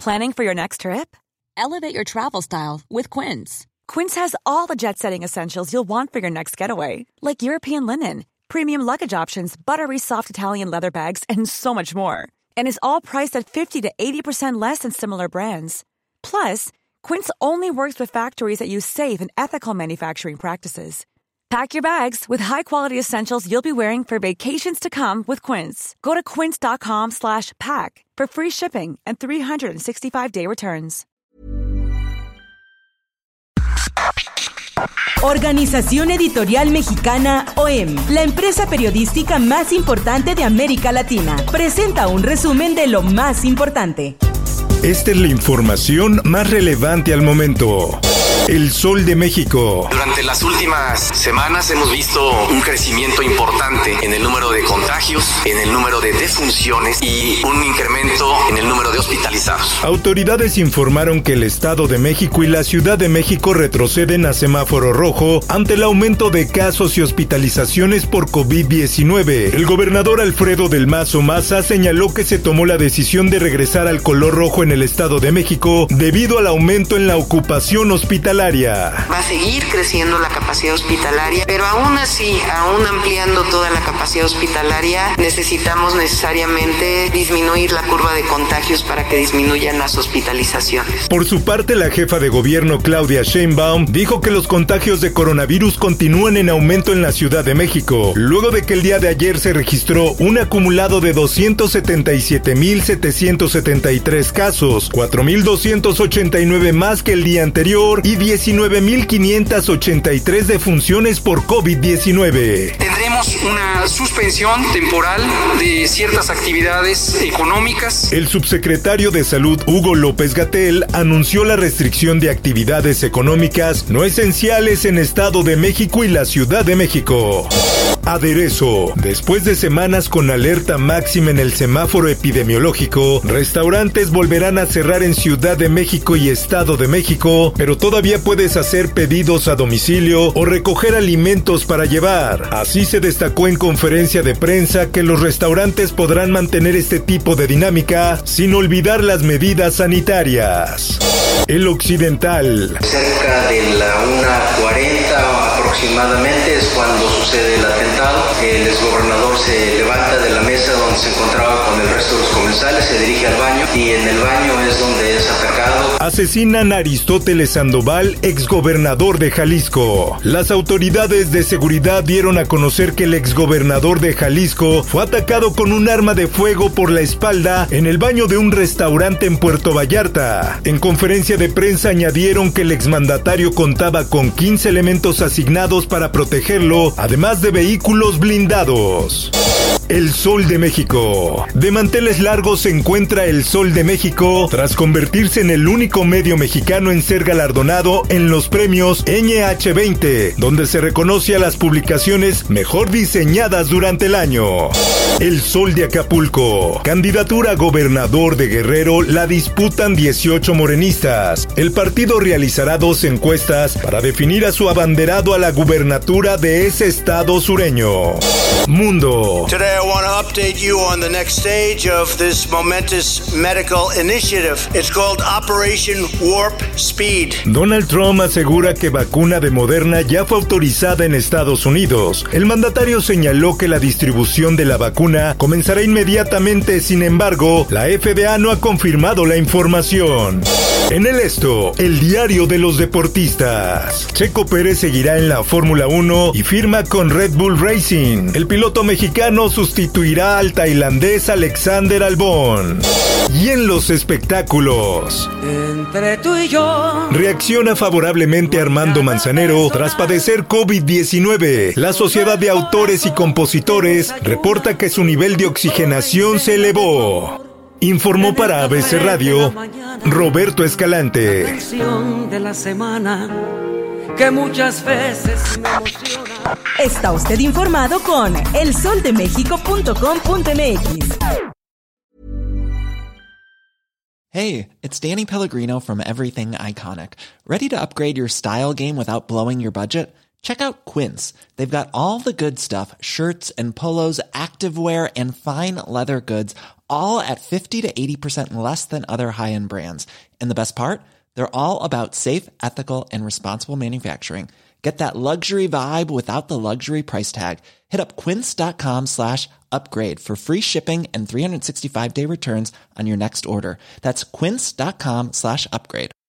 Planning for your next trip? Elevate your travel style with Quince. Quince has all the jet-setting essentials you'll want for your next getaway, like European linen, premium luggage options, buttery soft Italian leather bags, and so much more. And is all priced at 50 to 80% less than similar brands. Plus, Quince only works with factories that use safe and ethical manufacturing practices. Pack your bags with high-quality essentials you'll be wearing for vacations to come with Quince. Go to quince.com/pack for free shipping and 365-day returns. Organización Editorial Mexicana OEM, la empresa periodística más importante de América Latina, presenta un resumen de lo más importante. Esta es la información más relevante al momento. El Sol de México. Durante las últimas semanas hemos visto un crecimiento importante en el número de contagios, en el número de defunciones y un incremento en el número de hospitalizados. Autoridades informaron que el Estado de México y la Ciudad de México retroceden a semáforo rojo ante el aumento de casos y hospitalizaciones por COVID-19. El gobernador Alfredo del Mazo Maza señaló que se tomó la decisión de regresar al color rojo en el Estado de México debido al aumento en la ocupación hospitalaria. Va a seguir creciendo la capacidad hospitalaria, pero aún así, aún ampliando toda la capacidad hospitalaria, necesitamos necesariamente disminuir la curva de contagios para que disminuyan las hospitalizaciones. Por su parte, la jefa de gobierno Claudia Sheinbaum dijo que los contagios de coronavirus continúan en aumento en la Ciudad de México, luego de que el día de ayer se registró un acumulado de 277,773 casos, 4,289 más que el día anterior y 19,583 defunciones por COVID-19. Tendremos una suspensión temporal de ciertas actividades económicas. El subsecretario de Salud, Hugo López-Gatell, anunció la restricción de actividades económicas no esenciales en Estado de México y la Ciudad de México. Aderezo. Después de semanas con alerta máxima en el semáforo epidemiológico, restaurantes volverán a cerrar en Ciudad de México y Estado de México, pero todavía puedes hacer pedidos a domicilio o recoger alimentos para llevar. Así se destacó en conferencia de prensa que los restaurantes podrán mantener este tipo de dinámica sin olvidar las medidas sanitarias. El Occidental. Cerca de la 1:40 aproximadamente es cuando sucede el atentado. El exgobernador se levanta de la mesa donde se encontraba con el resto de los comensales, se dirige al baño y en el baño es donde es atacado. Asesinan a Aristóteles Sandoval, exgobernador de Jalisco. Las autoridades de seguridad dieron a conocer que el exgobernador de Jalisco fue atacado con un arma de fuego por la espalda en el baño de un restaurante en Puerto Vallarta. En conferencia de prensa añadieron que el exmandatario contaba con 15 elementos asignados para protegerlo, además de vehículos blindados. El Sol de México. De manteles largos se encuentra El Sol de México tras convertirse en el único medio mexicano en ser galardonado en los premios NH20, donde se reconoce a las publicaciones mejor diseñadas durante el año. El Sol de Acapulco. Candidatura a gobernador de Guerrero la disputan 18 morenistas. El partido realizará 2 encuestas para definir a su abanderado a la gubernatura de ese estado sureño. Mundo. Today I want to update you on the next stage of this momentous medical initiative. It's called Operation Warp Speed. Donald Trump asegura que vacuna de Moderna ya fue autorizada en Estados Unidos. El mandatario señaló que la distribución de la vacuna comenzará inmediatamente, sin embargo, la FDA no ha confirmado la información. En el esto, el diario de los deportistas. Checo Pérez seguirá en la Fórmula 1 y firma con Red Bull Racing. El piloto mexicano sustituirá al tailandés Alexander Albon. Y en los espectáculos. Entre tú y yo. Reacciona favorablemente Armando Manzanero tras padecer COVID-19. La Sociedad de Autores y Compositores reporta que su nivel de oxigenación se elevó. Informó para ABC Radio Roberto Escalante. De la semana que muchas veces me emociona. Está usted informado con elsoldemexico.com.mx. Hey, it's Danny Pellegrino from Everything Iconic. ¿Ready to upgrade your style game without blowing your budget? Check out Quince. They've got all the good stuff, shirts and polos, activewear, and fine leather goods, all at 50 to 80% less than other high-end brands. And the best part? They're all about safe, ethical, and responsible manufacturing. Get that luxury vibe without the luxury price tag. Hit up quince.com/upgrade for free shipping and 365-day returns on your next order. That's quince.com/upgrade.